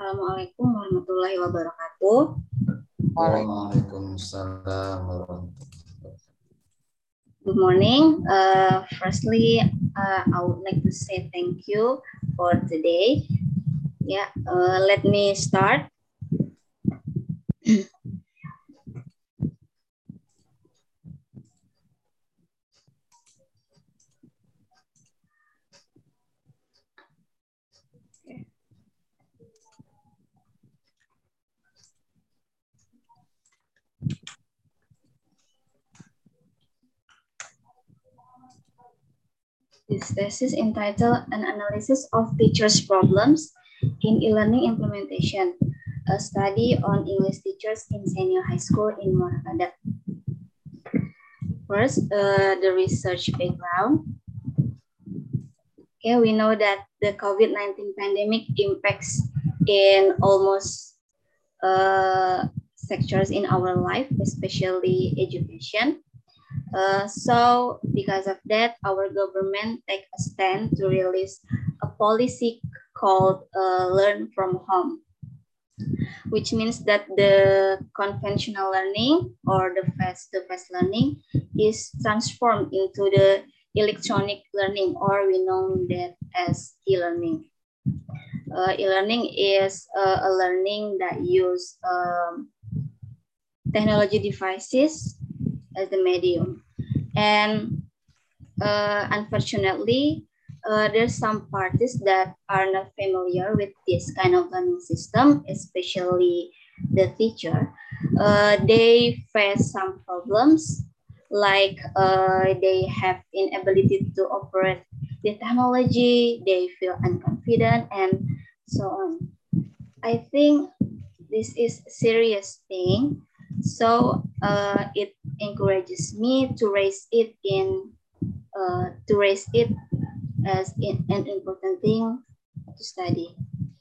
Assalamualaikum warahmatullahi wabarakatuh. Waalaikumsalam warahmatullahi wabarakatuh. Good morning. Firstly, I would like to say thank you for today. Let me start. This thesis entitled An Analysis of Teachers' Problems in E-Learning Implementation, a study on English teachers in senior high school in Morabadak. First, the research background. Okay, we know that the COVID-19 pandemic impacts in almost sectors in our life, especially education. So because of that, our government take a stand to release a policy called Learn from Home, which means that the conventional learning or the face-to-face learning is transformed into the electronic learning, or we know that as e-learning. E-learning is a learning that use technology devices as the medium. And unfortunately, there's some parties that are not familiar with this kind of learning system, especially the teacher. They face some problems, like they have inability to operate the technology, they feel unconfident, and so on. I think this is a serious thing. So it encourages me to raise it as an important thing to study.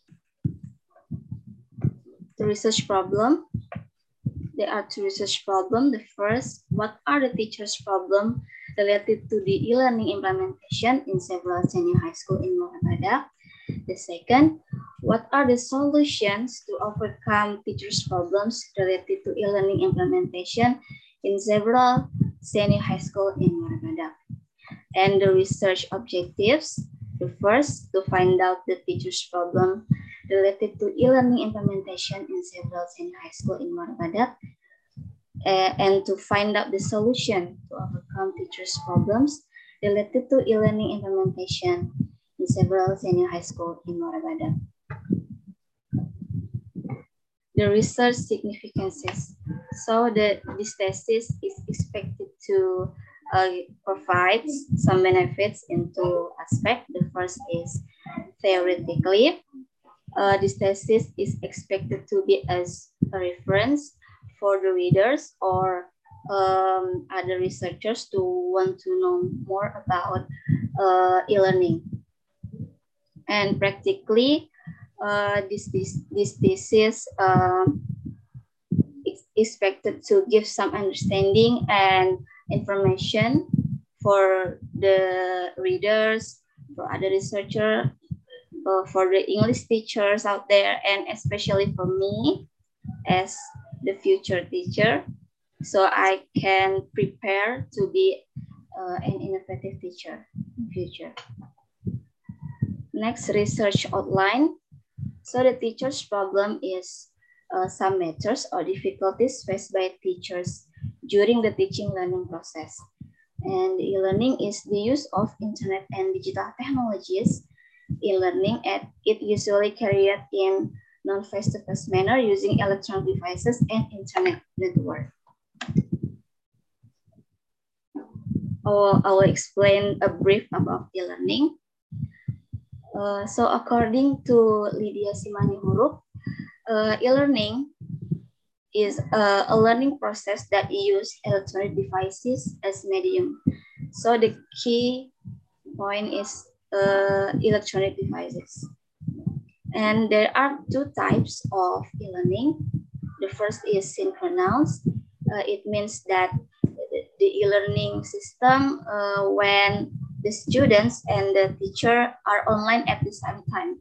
The research problem. There are two research problems. The first, what are the teachers' problems related to the e-learning implementation in several senior high school in Morabadak? The second, what are the solutions to overcome teachers' problems related to e-learning implementation in several senior high school in Morabadak? And the research objectives. The first, to find out the teachers' problem related to e-learning implementation in several senior high school in Morabadak, and to find out the solution to overcome teachers' problems related to e-learning implementation in several senior high school in Morabadak. The research significances. So this thesis is expected to provide some benefits in two aspects. The first is theoretically. This thesis is expected to be as a reference for the readers or other researchers to want to know more about e-learning. And practically, this thesis is expected to give some understanding and information for the readers, for other researchers, for the English teachers out there, and especially for me as the future teacher, so I can prepare to be an innovative teacher in future. Next, research outline. So the teacher's problem is some matters or difficulties faced by teachers during the teaching learning process. And e-learning is the use of internet and digital technologies in learning, and it usually carried in non-face-to-face manner using electronic devices and internet network. I will explain a brief about e-learning. So according to Lydia Simanihuruk, e-learning is a learning process that uses electronic devices as medium. So the key point is electronic devices. And there are two types of e-learning. The first is synchronous. It means that the e-learning system when the students and the teacher are online at the same time.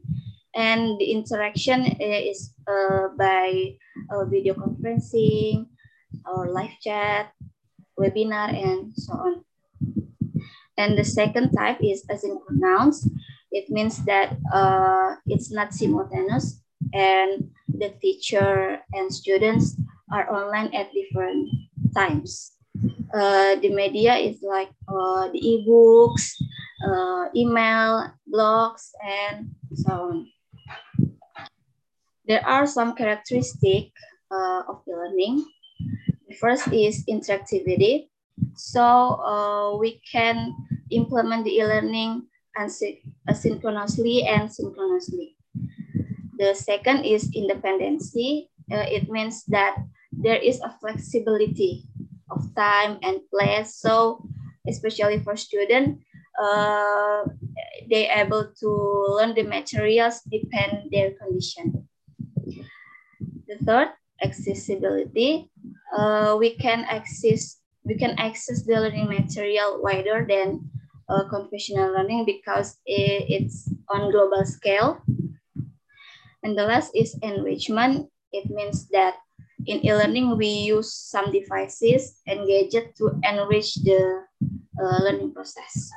And the interaction is by video conferencing or live chat, webinar, and so on. And the second type is asynchronous. It means that it's not simultaneous and the teacher and students are online at different times. The media is like the e-books, email, blogs, and so on. There are some characteristics of e-learning. The first is interactivity. So we can implement the e-learning asynchronously and synchronously. The second is independency. It means that there is a flexibility of time and place. So especially for students, they able to learn the materials depend their condition. The third, accessibility. We can access the learning material wider than conventional learning because it's on global scale. And the last is enrichment. It means that in e-learning we use some devices and gadgets to enrich the learning process.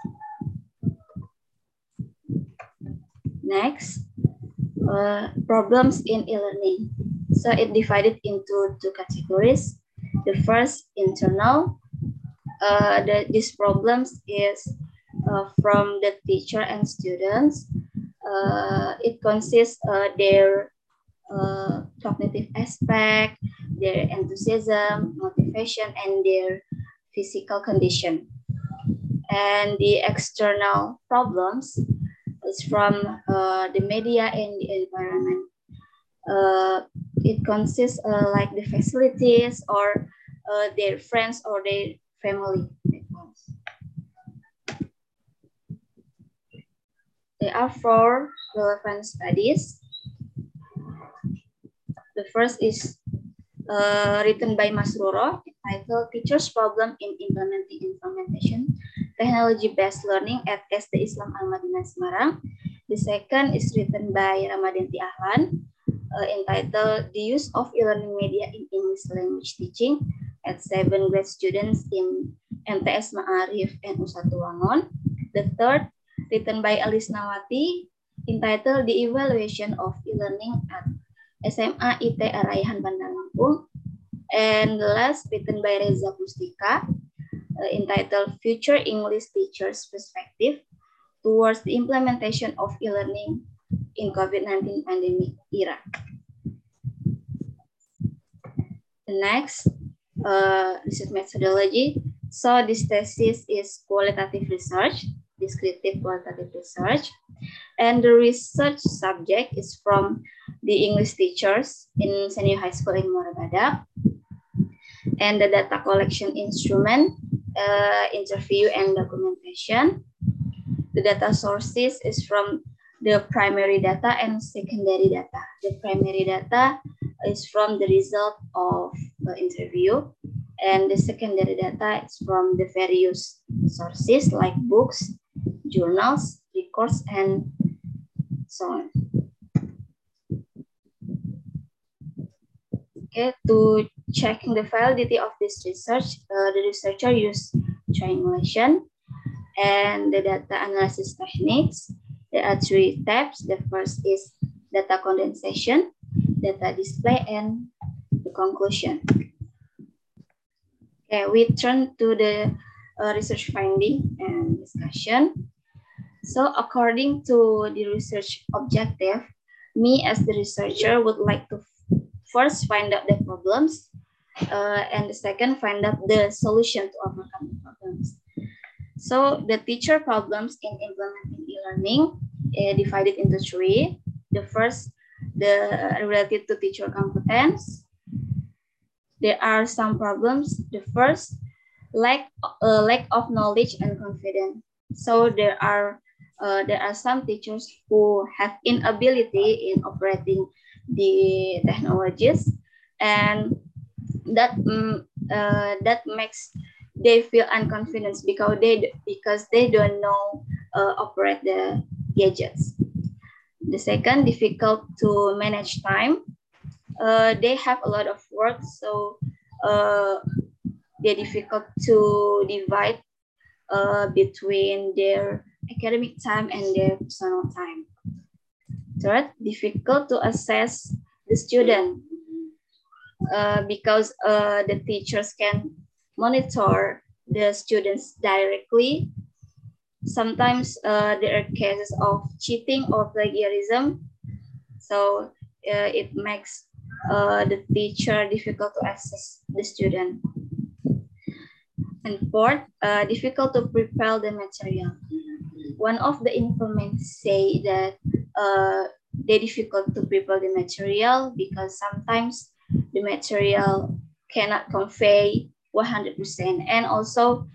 Next, problems in e-learning. So it divided into two categories. The first, internal. These problems is from the teacher and students. It consists their cognitive aspect, their enthusiasm, motivation, and their physical condition. And the external problems is from the media and the environment. It consists like the facilities or their friends or their family. There are 4 relevant studies. The first is written by Masruro, titled Teachers' Problem in Implementation Technology-Based Learning at SD Islam Al-Madinah Semarang. The second is written by Ramadhanti Ahlan, entitled The Use of E-Learning Media in English Language Teaching at 7th grade students in MTS Ma'arif and U1 Wangon. The third, written by Alis Nawati, entitled The Evaluation of E-Learning at SMA IT Araihan Bandar Lampung. And the last, written by Reza Pustika, entitled Future English Teachers Perspective Towards the Implementation of E-Learning in COVID-19 Pandemic Era. The next, research methodology. So this thesis is qualitative research, descriptive qualitative research. And the research subject is from the English teachers in Senior High School in Muara Badak. And the data collection instrument, interview and documentation. The data sources is from the primary data and secondary data. The primary data is from the result of the interview, and the secondary data is from the various sources like books, journals, records, and so on. Okay, to checking the validity of this research, the researcher used triangulation and the data analysis techniques. There are 3 steps. The first is data condensation, data display, and the conclusion. Okay, we turn to the research finding and discussion. So according to the research objective, me as the researcher would like to first find out the problems, and the second, find out the solution to overcome the problems. So the teacher problems in implementing e-learning divided into 3. The first, related to teacher competence. There are some problems. The first, lack of knowledge and confidence. So there are some teachers who have inability in operating the technologies, and that makes they feel unconfident because they don't know operate the gadgets. The second, difficult to manage time. They have a lot of work, so they're difficult to divide between their academic time and their personal time. Third, difficult to assess the student because the teachers can monitor the students directly. Sometimes there are cases of cheating or plagiarism, so it makes the teacher difficult to assess the student. And fourth, difficult to prepare the material. One of the informants say that they're difficult to prepare the material because sometimes the material cannot convey 100%, and also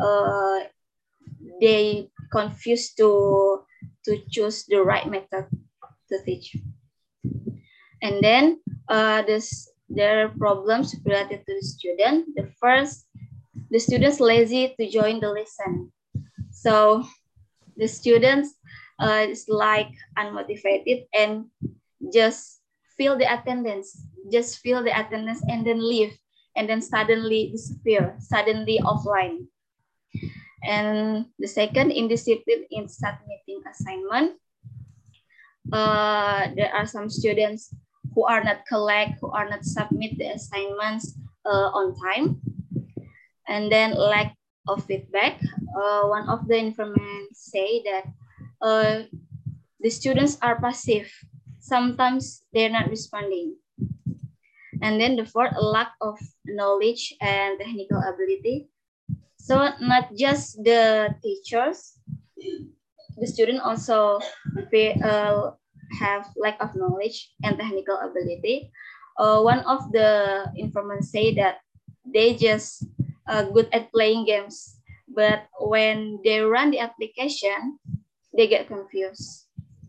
they confused to choose the right method to teach. And then there are problems related to the student. The first, the students lazy to join the lesson. So the students is like unmotivated and just fill the attendance, and then leave, and then suddenly disappear, suddenly offline. And the second, indiscipline in submitting assignment. There are some students who are not submit the assignments on time. And then lack of feedback. One of the informants say that the students are passive. Sometimes they're not responding. And then the fourth, lack of knowledge and technical ability. So not just the teachers, the student also have lack of knowledge and technical ability. One of the informants say that they just good at playing games, but when they run the application, they get confused.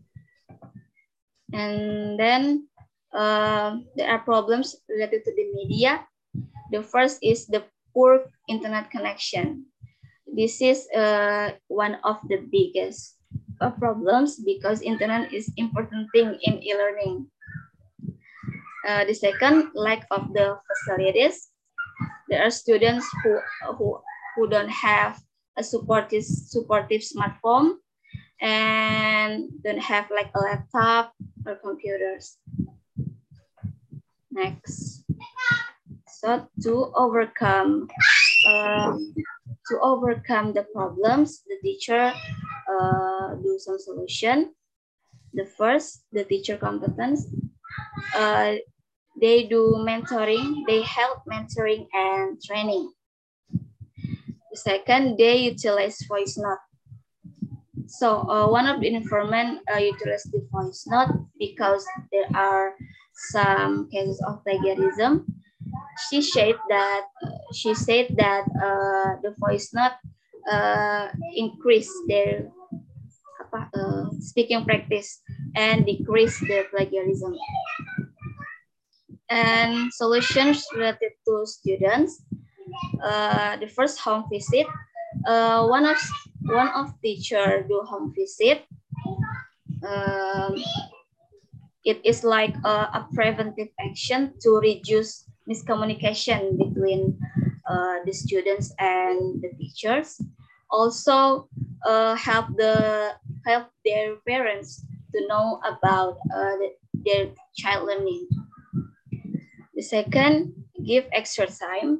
And then there are problems related to the media. The first is the poor internet connection. This is one of the biggest problems because internet is important thing in e-learning. The second, lack of the facilities. There are students who don't have a supportive smartphone and don't have like a laptop or computers. Next, so to overcome the problems, the teacher do some solution. The first, the teacher competence. They do mentoring, they help mentoring and training. The second, they utilize voice note. So one of the informant utilized the voice note because there are some cases of plagiarism. She said that the voice note increase their speaking practice and decrease the plagiarism. And solutions related to students. The first, home visit. One of teacher do home visit. It is like a preventive action to reduce miscommunication between the students and the teachers. Also, help their parents to know about their child learning. The second, give extra time.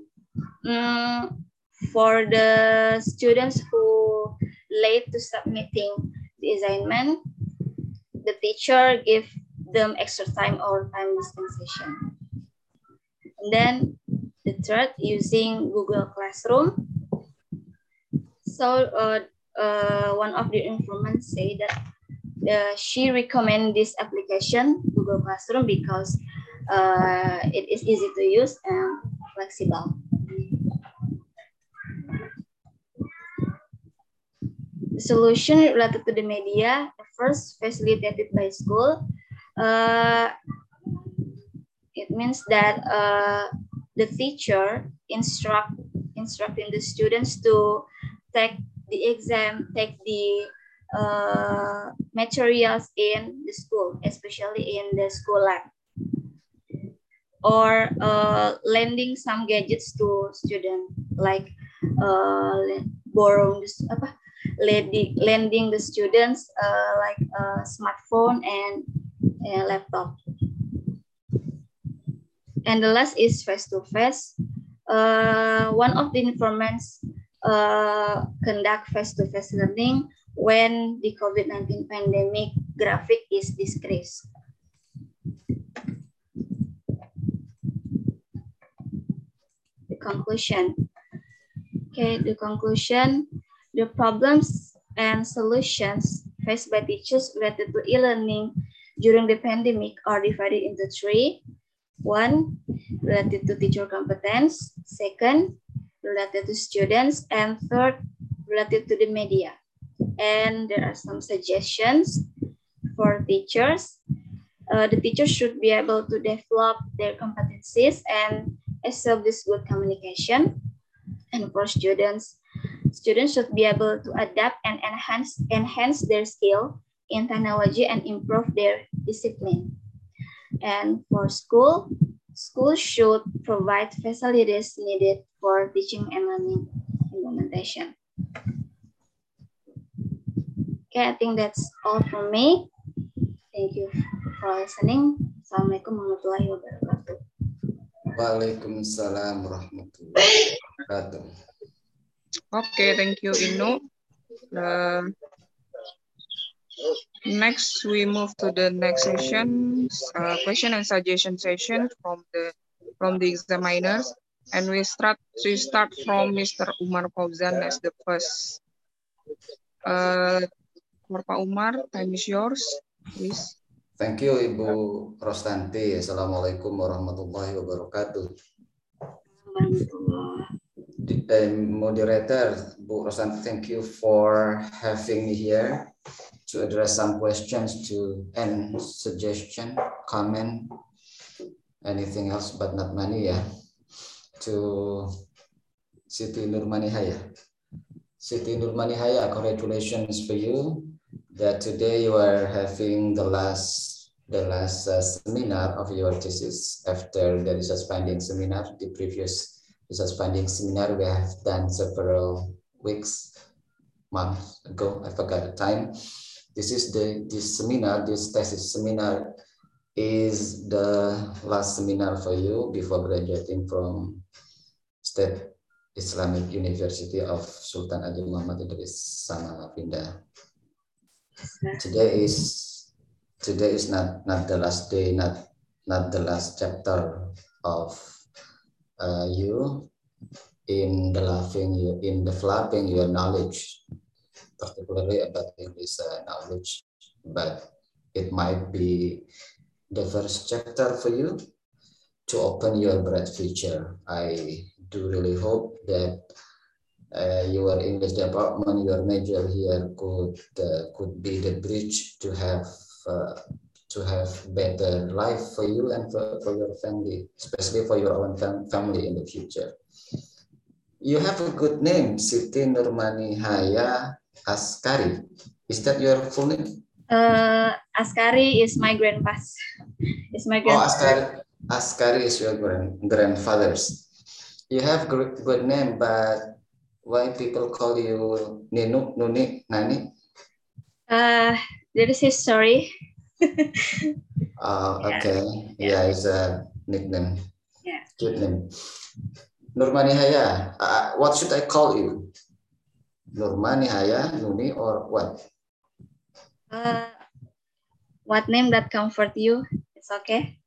For the students who late to submitting the assignment, the teacher give them extra time or time dispensation. And then the third, using Google Classroom. So one of the informants say that she recommend this application, Google Classroom, because it is easy to use and flexible. The solution related to the media, the first, facilitated by school. It means that the teacher instructing the students to take the exam, take the materials in the school, especially in the school lab, or lending some gadgets to students, like borrowing lending the students like a smartphone and a laptop. And the last is face-to-face. One of the informants conduct face-to-face learning when the COVID-19 pandemic graphic is decreased. The conclusion. Okay, the conclusion. The problems and solutions faced by teachers related to e-learning during the pandemic are divided into three. One, related to teacher competence. Second, related to students. And third, related to the media. And there are some suggestions for teachers. The teachers should be able to develop their competencies and establish good communication. And for students should be able to adapt and enhance their skill in technology and improve their discipline. And for schools should provide facilities needed for teaching and learning implementation. Okay, I think that's all from me. Thank you for listening. Assalamualaikum warahmatullahi wabarakatuh. Waalaikumsalam warahmatullahi wabarakatuh. Okay, thank you, Inu. Next, we move to the next session, question and suggestion session from the examiners, and we start from Mr. Umar Fauzan as the first. For Pak Umar, time is yours, please. Thank you, Ibu Rostanti. Assalamualaikum warahmatullahi wabarakatuh. Moderator, Bu Rostanti, thank you for having me here to address some questions and suggestion, comment, anything else but not money, yeah, to Siti Nurmanihaya. Siti Nurmanihaya, congratulations for you that today you are having the last seminar of your thesis after the research finding seminar. The previous research finding seminar we have done several months ago. I forgot the time. This thesis seminar is the last seminar for you before graduating from State Islamic University of Sultan Haji Muhammad Idris Samarinda. Today is not the last day, not the last chapter of you in developing your knowledge, particularly about English knowledge, but it might be the first chapter for you to open your bright future. I do really hope that your English department, your major here could be the bridge to have better life for you and for your family, especially for your own family in the future. You have a good name, Siti Nurmanihaya Askari. Is that your full name? Askari is my grandpa's. Askari is your grandfather's. You have good name, but why people call you Ninu, Nuni, Nani? There is history. Okay. Yeah, it's a nickname. Yeah. Cute name. Nurmanihaya. What should I call you? Nurmanihaya, Nuni, or what? What name that comfort you? It's okay.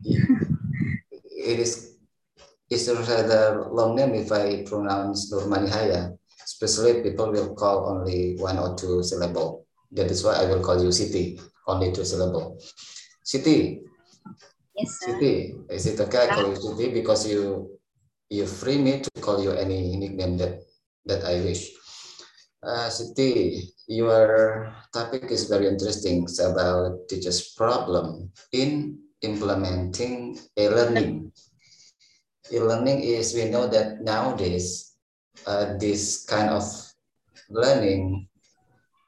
It's a rather long name if I pronounce Nurmanihaya. Especially people will call only one or two syllable. That is why I will call you Siti, only 2 syllable. Siti. Yes, sir. Siti, is it okay I call you Siti because you free me to call you any nickname that I wish. Siti, your topic is very interesting. It's about teachers' problem in implementing e-learning. E-learning is, we know that nowadays, this kind of learning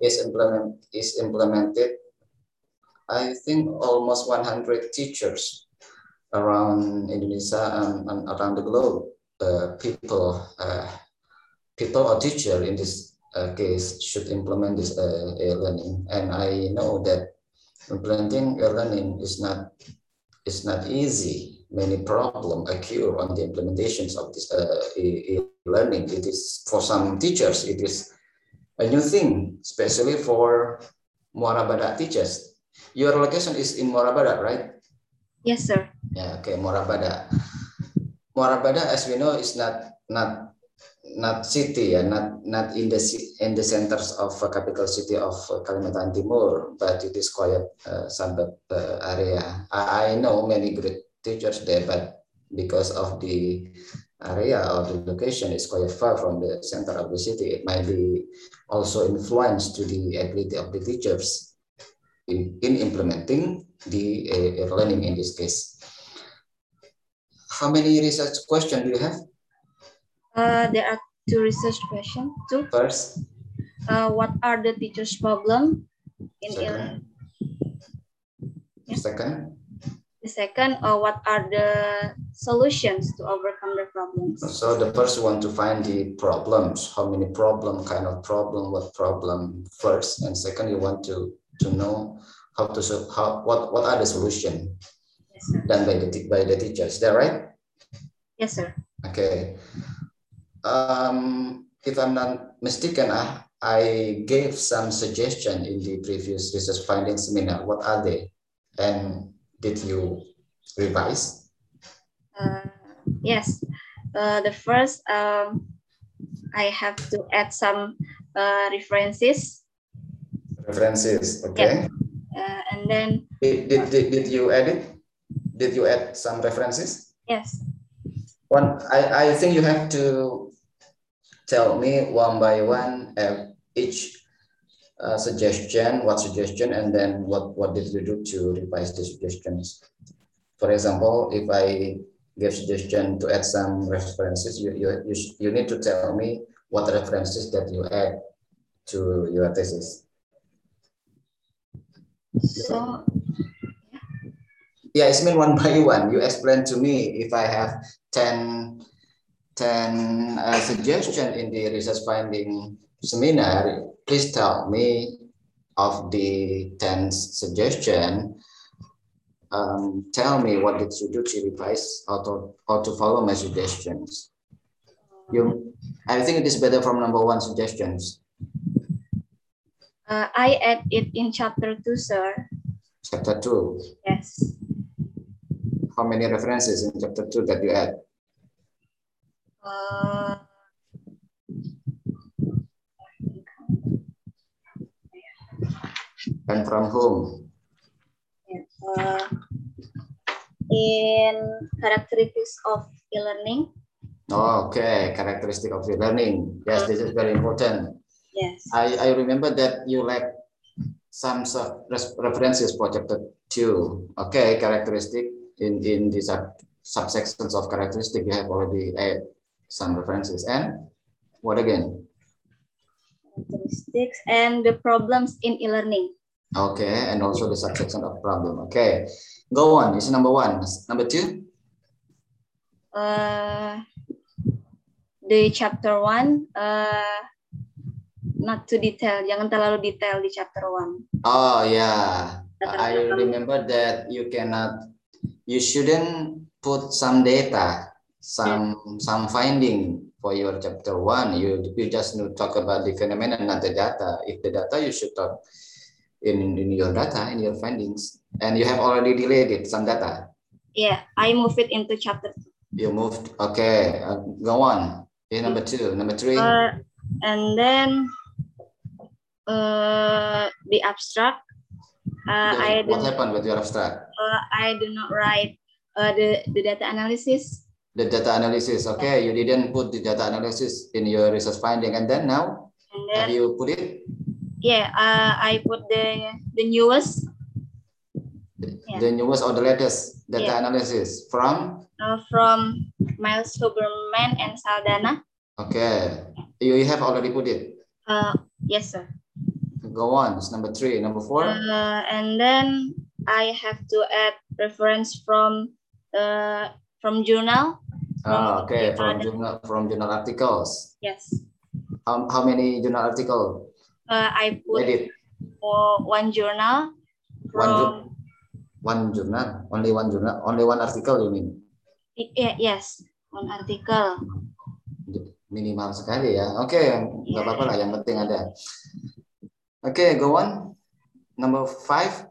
is implemented, I think almost 100 teachers around Indonesia and around the globe. People or teacher in this case should implement this e-learning, and I know that implementing e-learning is not easy. Many problems occur on the implementations of this e-learning. It is, for some teachers, it is a new thing, especially for Muara Badak teachers. Your location is in Muara Badak, right? Yes, sir. Yeah, okay, Muara Badak. Muara Badak, as we know, is not city, not in the centers of capital city of Kalimantan Timur, but it is quite suburb area. I know many great teachers there, but because of the area or the location is quite far from the center of the city, it might be also influence to the ability of the teachers in implementing the learning in this case. How many research questions do you have? There are 2 research questions. First, what are the teachers' problem in second. Yeah. Second. The second, what are the solutions to overcome the problems? So the first one, to find the problems. How many problem, kind of problem, what problem first, and second, you want to know how to what are the solutions done by the teachers. Is that right? Yes, sir. Okay. If I'm not mistaken, I gave some suggestion in the previous research findings seminar. What are they? And did you revise? Yes. The first, I have to add some references. References, okay. Yeah. And then did you add it? Did you add some references? Yes. I think you have to tell me one by one each suggestion, and then what did you do to revise the suggestions. For example, if I give suggestion to add some references, you need to tell me what references that you add to your thesis. So yeah, it's mean one by one. You explain to me. If I have 10 suggestions in the research finding seminar, please tell me of the 10 suggestion. Tell me what did you do to revise or to follow my suggestions. I think it is better from number 1 suggestions. I add it in chapter 2, sir. Chapter 2. Yes. How many references in chapter 2 that you add? And from whom? In characteristics of e-learning. Okay, characteristic of e-learning. Yes, this is very important. Yes. I remember that you lack some references for chapter 2. Okay, characteristic in the subsections of characteristic, you have already added some references. And what again? Characteristics and the problems in e-learning. Okay, and also the subsection of problem. Okay, go on. It's number 1. Number 2? The chapter 1, not too detail. Jangan terlalu detail di chapter 1. Oh yeah, I remember that you shouldn't put some data, some finding for your chapter 1. You just need to talk about the phenomenon, not the data. If the data, you should talk in your data, in your findings. And you have already deleted some data. Yeah, I move it into chapter 2. You moved, okay. Go on. In number 2, number 3. And then the abstract. What happened with your abstract? I do not write the data analysis. The data analysis, okay. You didn't put the data analysis in your research finding, and then now, have you put it? Yeah, I put the newest. The newest or the latest data analysis from? From Miles Huberman and Saldana. Okay, you have already put it? Yes, sir. Go on. It's number 3. Number 4. And then I have to add reference from journal. Okay, from journal articles. Yes. How many journal articles? I put Edit. One journal. One journal. Only one journal. Only one article, you mean? Yes, one article. Minimal sekali ya. Oke, nggak apa-apa lah. Yang penting ada. Oke, go on. Number 5.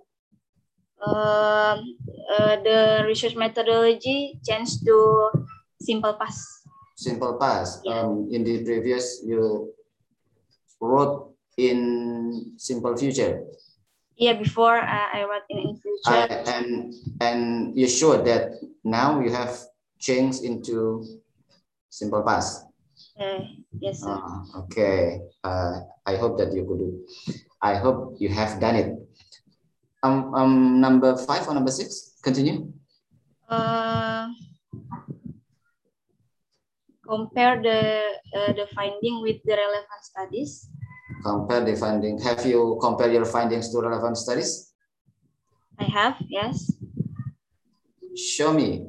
The research methodology changed to simple past. Simple past. Yeah. In the previous, you wrote in simple future. Yeah, before I wrote in future. And you sure that now you have changed into simple past? Yes, sir. Okay. I hope that you could do. I hope you have done it. Number 5 or number 6? Continue. Compare the finding with the relevant studies. Compare the finding. Have you compared your findings to relevant studies? I have, yes. Show me.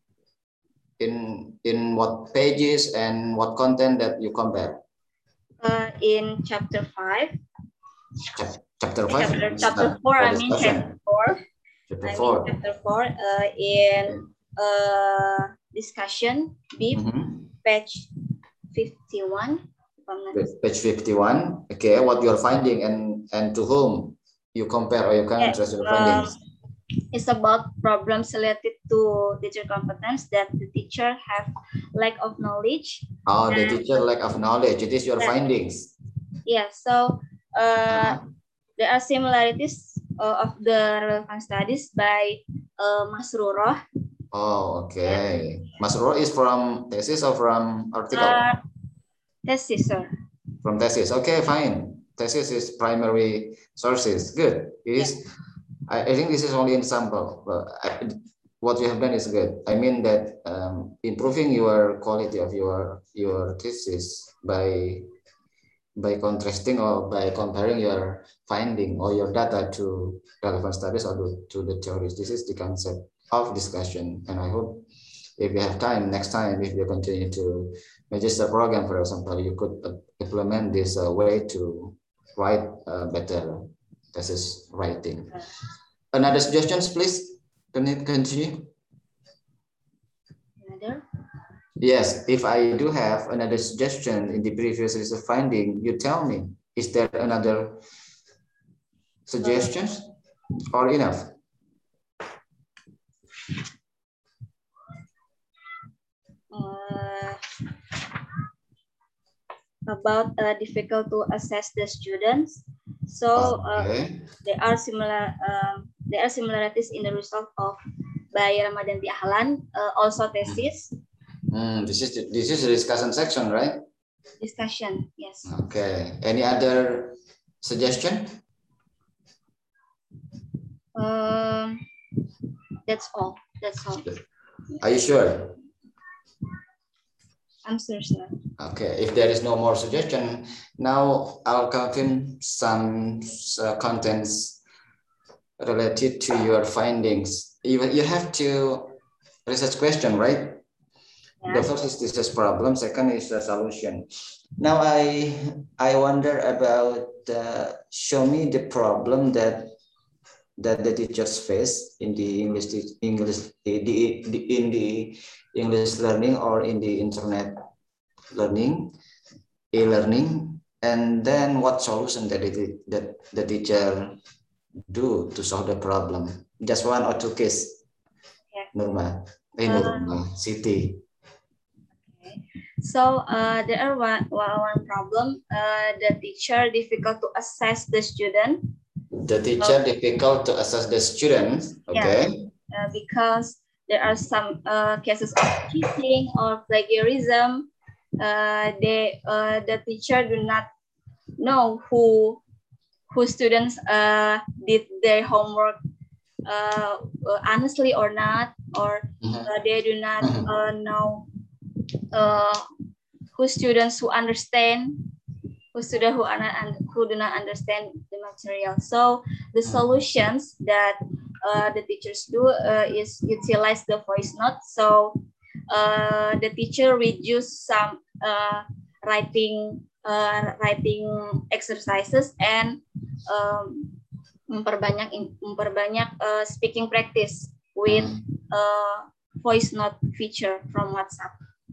In what pages and what content that you compare? In chapter 5. Chapter 5? Chapter 4, I mean chapter 4. Chapter 4. Chapter 4 in discussion, B, page 51. Page 51. Okay, what you're finding and to whom you compare or you contrast your findings? It's about problems related to teacher competence that the teacher have lack of knowledge. Oh, the teacher lack of knowledge. It is your findings. Yeah, so there are similarities of the relevant studies by Masruroh. Oh, okay. Masruroh is from thesis or from article? Thesis, sir. From thesis. Okay, fine. Thesis is primary sources. Good. It is. I think this is only an example. What you have done is good. I mean that improving your quality of your thesis by contrasting or by comparing your finding or your data to relevant studies or to the theories. This is the concept of discussion. And I hope if you have time, next time, if you continue to register program, for example, you could implement this way to write better thesis writing. Another suggestions, please? Can you continue? Another? Yes, if I do have another suggestion in the previous research finding, you tell me. Is there another suggestions or enough? About difficult to assess the students. So there are similarities in the result of by Ramadanti Ahlan, also thesis. This is the discussion section, right? Discussion, yes. Okay. Any other suggestion? That's all. That's all. Are you sure? I'm sure, sir. Okay. If there is no more suggestion, now I'll confirm some contents related to your findings. You have to research question, right? Yeah. The first is this problem. Second is the solution. Now I wonder about show me the problem that the teachers face in the English learning or in the internet learning, e-learning, and then what solution that the teacher do to solve the problem. Just 1 or 2 case. Yeah. Nurma, Siti. Okay. So there are one problem. The teacher difficult to assess the student. The teacher difficult to assess the students. Okay. Yeah. Because there are some cases of cheating or plagiarism. The teacher do not know who students did their homework honestly or not, or they do not know who students who understand, who do not understand the material. So the solutions that the teachers do is utilize the voice note. So the teacher reduce some writing exercises and memperbanyak speaking practice with voice note feature from WhatsApp.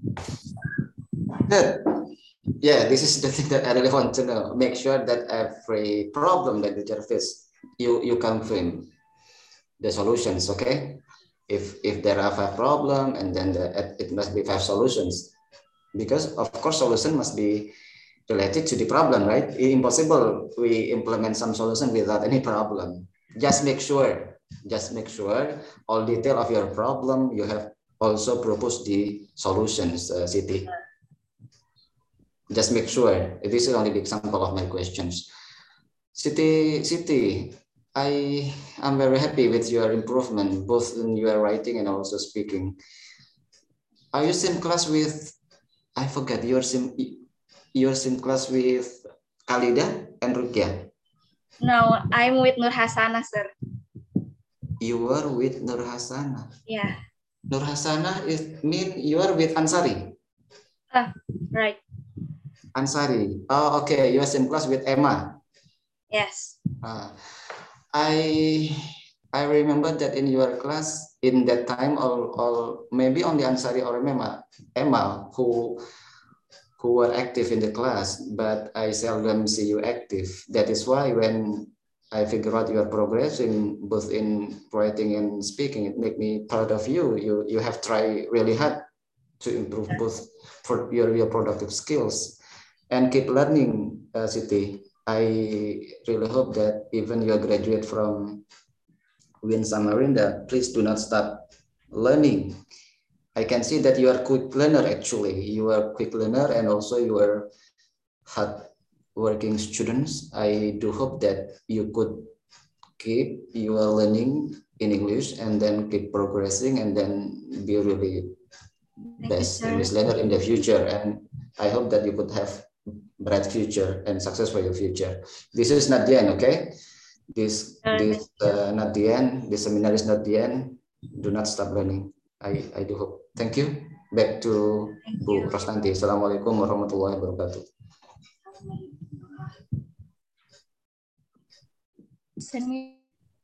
Good. Yeah, this is the thing that I really want to know. Make sure that every problem that the teacher faces, you can frame the solutions. Okay, if there are 5 problems, and then it must be 5 solutions, because of course solution must be related to the problem, right? It's impossible we implement some solution without any problem. Just make sure all detail of your problem you have also proposed the solutions, Siti. Just make sure. This is only the example of my questions. Siti, I am very happy with your improvement, both in your writing and also speaking. Are you same class with, I forget, you're same class with Khalida and Rukia? No, I'm with Nur Hasana, sir. You are with Nur Hasana? Yeah. Nur Hasana mean you are with Ansari? Right. Ansari. Oh, okay. You are same class with Emma. Yes. I remember that in your class in that time, or maybe only Ansari or Emma who were active in the class, but I seldom see you active. That is why when I figure out your progress in both in writing and speaking, it make me proud of you. You have tried really hard to improve both for your productive skills. And keep learning, Siti. I really hope that even you graduate from Win Samarinda, please do not stop learning. I can see that you are quick learner actually. You are quick learner and also you are hard working students. I do hope that you could keep your learning in English and then keep progressing and then be really best English learner in the future. And I hope that you could have bright future and success for your future. This is not the end, okay? This not the end. This seminar is not the end. Do not stop learning. I do hope. Thank you. Back to Bu Rosnanti. Assalamualaikum warahmatullahi wabarakatuh. Send me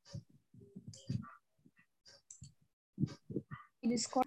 Discord.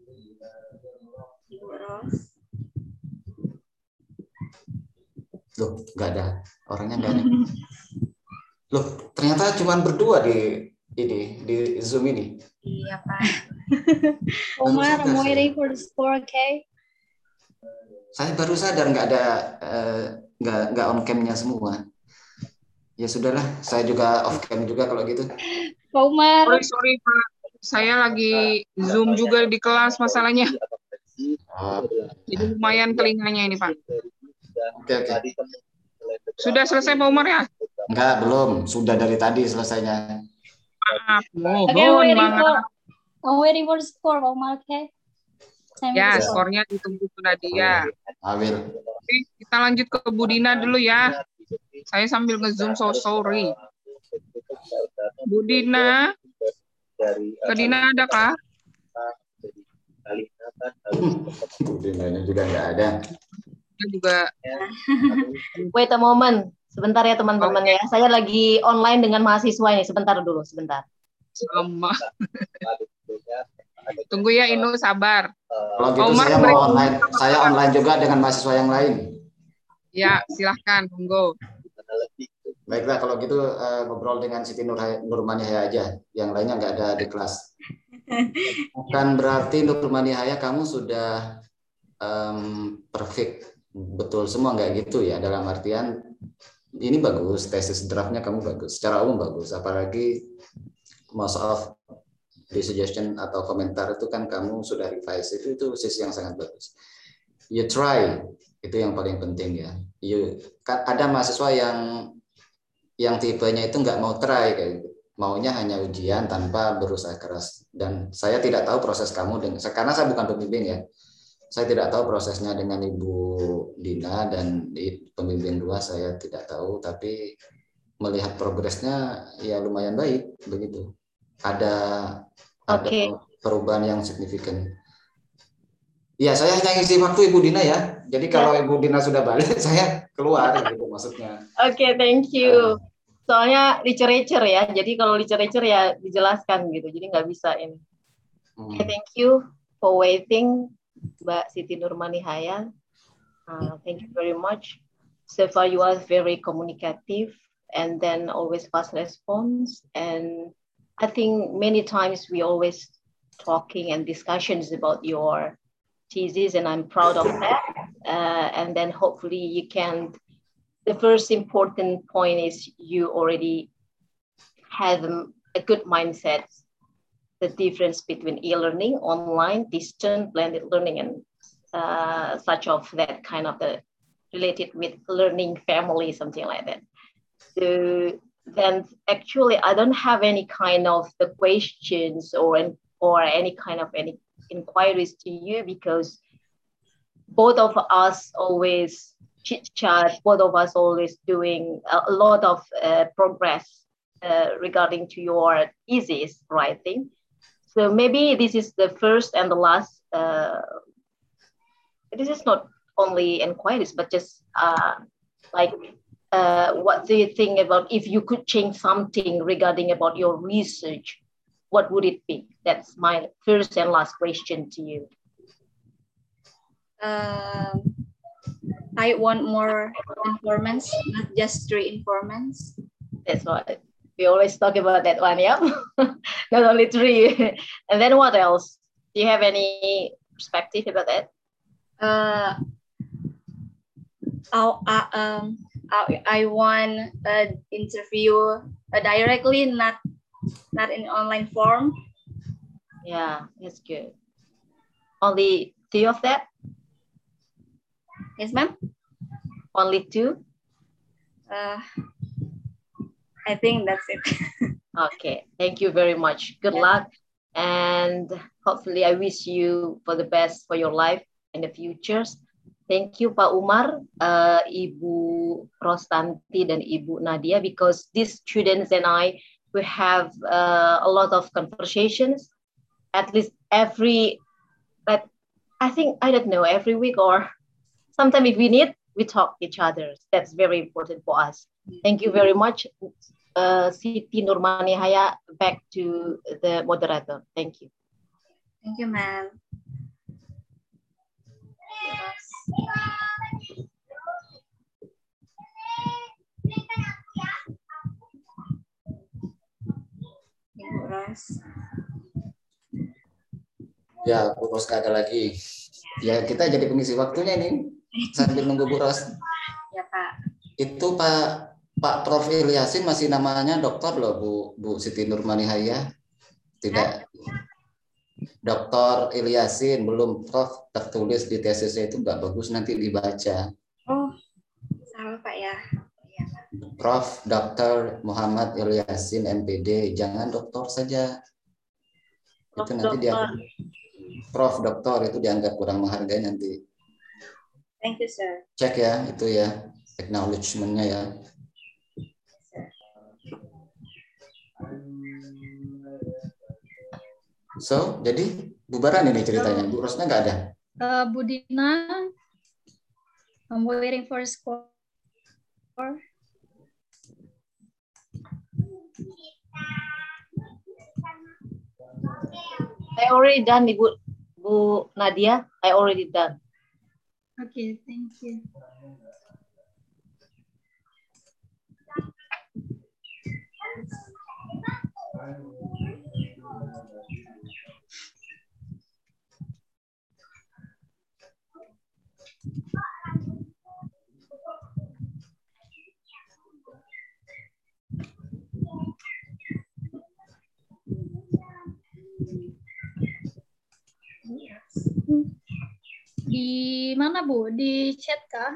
Loh, nggak ada. Orangnya nggak ada. Loh, ternyata cuma berdua di Zoom ini. Iya, Pak. Omar, I'm waiting for the score, okay? Saya baru sadar nggak ada nggak on cam-nya semua. Ya sudahlah, saya juga off cam juga kalau gitu. Pak Umar. Sorry Pak, saya lagi Zoom juga di kelas masalahnya. Jadi lumayan telinganya ini Pak. Oke. Sudah selesai Pak Umar ya? Enggak, belum. Sudah dari tadi selesainya. Maaf, Okay, I'm waiting for the score, Pak Umar, okay? Ya, skornya ditunggu Bu Nadia. Awil. Oke, kita lanjut ke Bu Dina dulu ya. Saya sambil nge-zoom, so sorry. Bu Dina, ke Dina ada kah? Bu Dinanya juga nggak ada. Juga. Wait a moment, sebentar ya teman-teman ya. Saya lagi online dengan mahasiswa ini. Sebentar dulu, sebentar. Sama. Tunggu ya Inu, sabar. Kalau gitu saya mau online. Saya online juga dengan mahasiswa yang lain. Ya, silahkan, tunggu. Baiklah, kalau gitu ngobrol dengan Siti Nurmanihaya aja. Yang lainnya nggak ada di kelas. Bukan berarti Nurmanihaya kamu sudah perfect. Betul semua nggak gitu ya. Dalam artian ini bagus, tesis draftnya kamu bagus. Secara umum bagus. Apalagi most of the suggestion atau komentar itu kan kamu sudah revise. Itu sisi yang sangat bagus. You try. Itu yang paling penting ya. Ada mahasiswa yang tipenya itu nggak mau try kayak gitu. Maunya hanya ujian tanpa berusaha keras. Dan saya tidak tahu proses kamu karena saya bukan pembimbing ya. Saya tidak tahu prosesnya dengan Ibu Dina dan di pembimbing 2 saya tidak tahu. Tapi melihat progresnya ya lumayan baik begitu. Ada perubahan yang signifikan. Ya, saya hanya ngisi waktu Ibu Dina ya. Jadi kalau Ibu Dina sudah balik, saya keluar gitu maksudnya. Oke, thank you. Soalnya literature ya. Jadi kalau literature ya dijelaskan gitu. Jadi nggak bisa ini. Okay, thank you for waiting, Mbak Siti Nurmanihaya. Thank you very much. So far you are very communicative and then always fast response. And I think many times we always talking and discussions about your thesis, and I'm proud of that. And then hopefully you can, the first important point is you already have a good mindset, the difference between e-learning, online, distant, blended learning, and such of that kind of the related with learning family, something like that. So then actually I don't have any kind of the questions or any kind of any inquiries to you, because both of us always chit chat, both of us always doing a lot of progress regarding to your thesis writing. So maybe this is the first and the last, this is not only inquiries, but just what do you think about if you could change something regarding about your research, what would it be? That's my first and last question to you. I want more informants, not just 3 informants. That's what we always talk about that one, yeah. Not only 3. And then what else? Do you have any perspective about that? I want an interview directly, not in online form. Yeah, that's good. Only 2 of that? Yes, ma'am. Only 2? I think that's it. Okay, thank you very much. Good luck, and hopefully I wish you for the best for your life in the futures. Thank you, Pak Umar, Ibu Rostanti, dan Ibu Nadia, because these students and I, we have a lot of conversations, at least every week, or sometimes if we need, we talk each other. That's very important for us. Thank you very much. Siti Nurmanihaya, back to the moderator. Thank you. Thank you, ma'am. Ya, Bu Ros ada lagi. Ya, kita jadi pengisi waktunya ini sambil nunggu Bu Ros. Ya, Pak. Itu Pak Prof. Ilyasin masih namanya doktor loh, Bu Siti Nurmanihaya. Tidak. Dr. Ilyasin, belum Prof. Tertulis di tesisnya itu nggak bagus, nanti dibaca. Oh, salah Pak ya. Prof. Dr. Muhammad Ilyasin, MPD, jangan doktor saja. Prof. Itu nanti dia Prof. Doktor itu dianggap kurang menghargai nanti. Thank you, sir. Cek ya, itu ya, acknowledgement-nya ya. So, jadi bubaran ini ceritanya. Bu Rosna nggak ada? Bu Dina, I'm waiting for a score. I already done, Bu Nadia. I already done. Okay, thank you. Di mana, Bu? Di chat kah?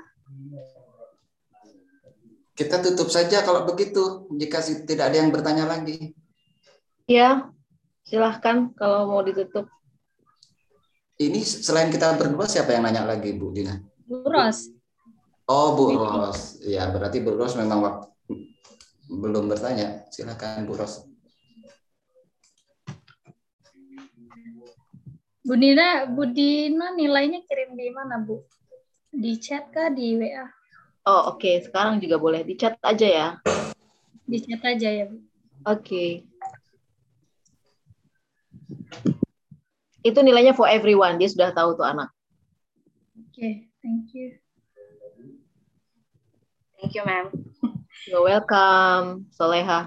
Kita tutup saja kalau begitu, jika tidak ada yang bertanya lagi. Ya, silahkan kalau mau ditutup. Ini selain kita berdua, siapa yang nanya lagi, Bu Dina? Bu Ros. Oh, Bu Ros. Ya, berarti Bu Ros memang waktu belum bertanya. Silakan Bu Ros. Bu Dina nilainya kirim di mana, Bu? Di chat kah, di WA? Oh, oke. Sekarang juga boleh di chat aja ya. Di chat aja ya, Bu. Oke. Itu nilainya for everyone. Dia sudah tahu tuh anak. Oke, thank you. Thank you, ma'am. You're welcome, Soleha.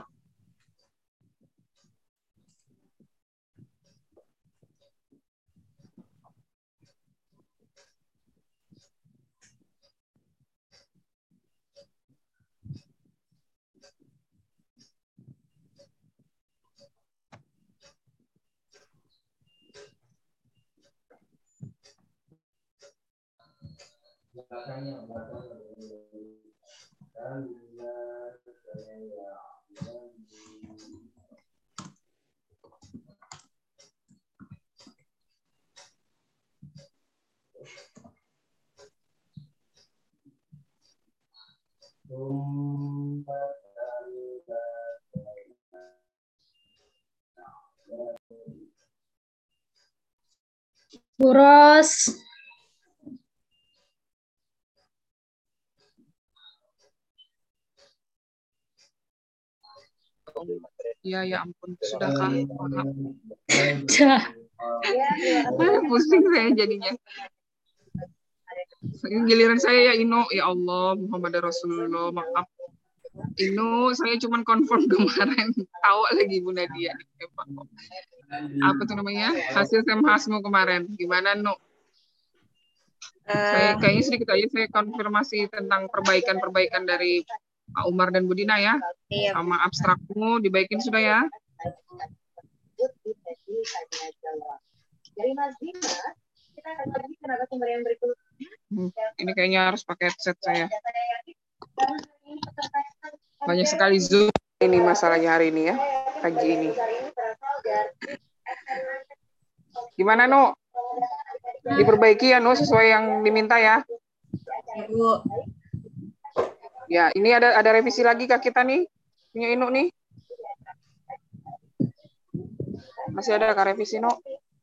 Bu Ros. Ya, ya ampun, sudahkah? Maaf. Pusing saya jadinya. Giliran saya ya Ino, ya Allah, Muhammad Rasulullah, maaf. Ino, saya cuma confirm kemarin. Tahu lagi Bu Nadia. Apa tuh namanya? Hasil semhasmu kemarin. Gimana, No? Saya kayaknya sedikit aja saya konfirmasi tentang perbaikan-perbaikan dari Pak Umar dan Bu Dina ya. Iya. Sama abstrakmu dibaikin sudah ya. Ini kayaknya harus pakai headset saya. Banyak sekali Zoom ini masalahnya hari ini ya. Pagi ini. Gimana, No? Diperbaiki ya, No, sesuai yang diminta ya. Ibu. Ya, ini ada revisi lagi kah kita nih? Punya Inu nih? Masih ada kah revisi, No?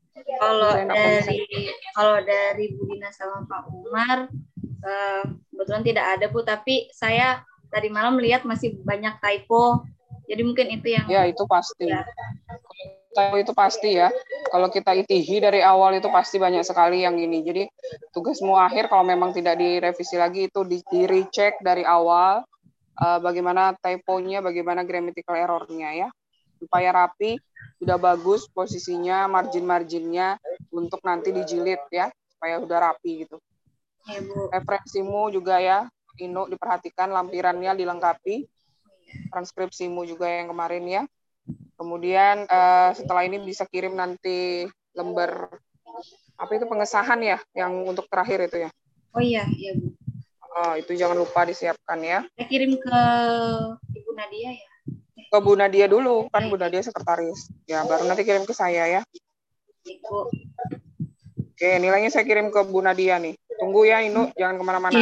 Kalau dari Bu Dina sama Pak Umar, kebetulan tidak ada, Bu, tapi saya tadi malam melihat masih banyak typo. Jadi mungkin itu yang... Ya, itu pasti. Ya. Itu pasti ya. Kalau kita itihi dari awal itu pasti banyak sekali yang ini. Jadi tugasmu akhir kalau memang tidak direvisi lagi itu di-recheck dari awal bagaimana typonya, bagaimana grammatical error-nya ya. Supaya rapi, sudah bagus posisinya, margin-marginnya untuk nanti dijilid ya, supaya udah rapi gitu. Ya, Bu. Referensimu juga ya, Ino diperhatikan, lampirannya dilengkapi. Transkripsimu juga yang kemarin ya. Kemudian setelah ini bisa kirim nanti lembar apa itu pengesahan ya, yang untuk terakhir itu ya. Oh iya, iya Bu. Itu jangan lupa disiapkan ya. Saya kirim ke Ibu Nadia ya. Ke Bu Nadia dulu, kan Bu Nadia sekretaris. Ya, baru nanti kirim ke saya ya. Ibu. Oke, nilainya saya kirim ke Bu Nadia nih. Tunggu ya, Inu, jangan kemana-mana.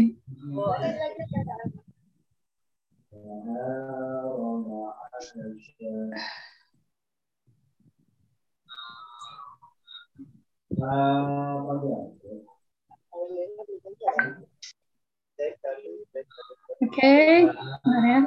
Oke, ya.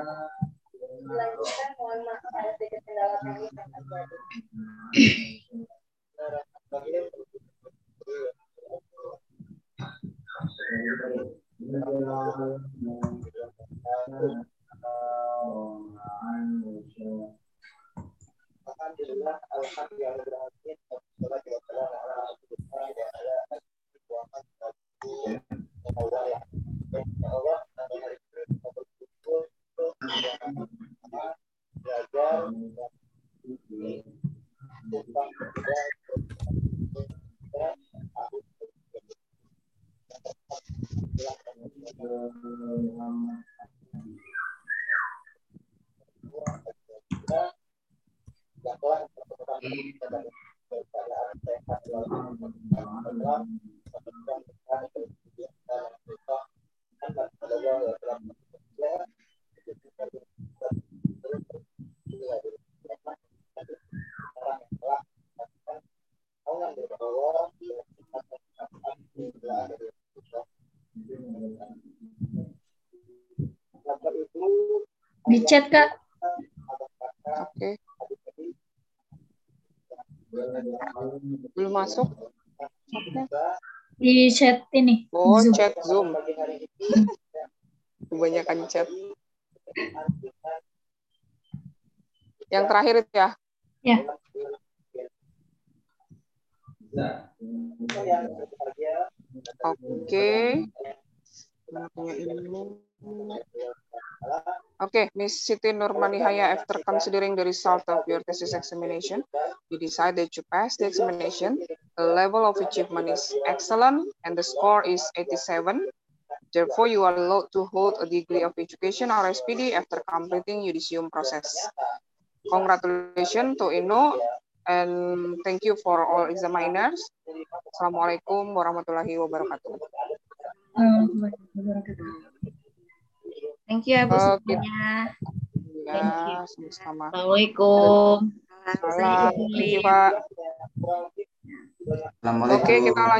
Di chat, Kak. Oke. Belum masuk. Oke. Di chat ini. Oh, Zoom. chat Zoom. Kebanyakan chat. Yang terakhir itu ya? Ya. Oke. Okay, Miss Siti Nurmanihaya, after considering the result of your thesis examination, you decide that you passed the examination, the level of achievement is excellent, and the score is 87. Therefore, you are allowed to hold a degree of education or SPD after completing judicium process. Congratulations to Ino, and thank you for all examiners. Assalamualaikum warahmatullahi wabarakatuh. Thank you, Bu semuanya. Ya, sama-sama. Assalamualaikum. Salam. Thank you, Pak. Assalamualaikum. Oke, kita lanjut.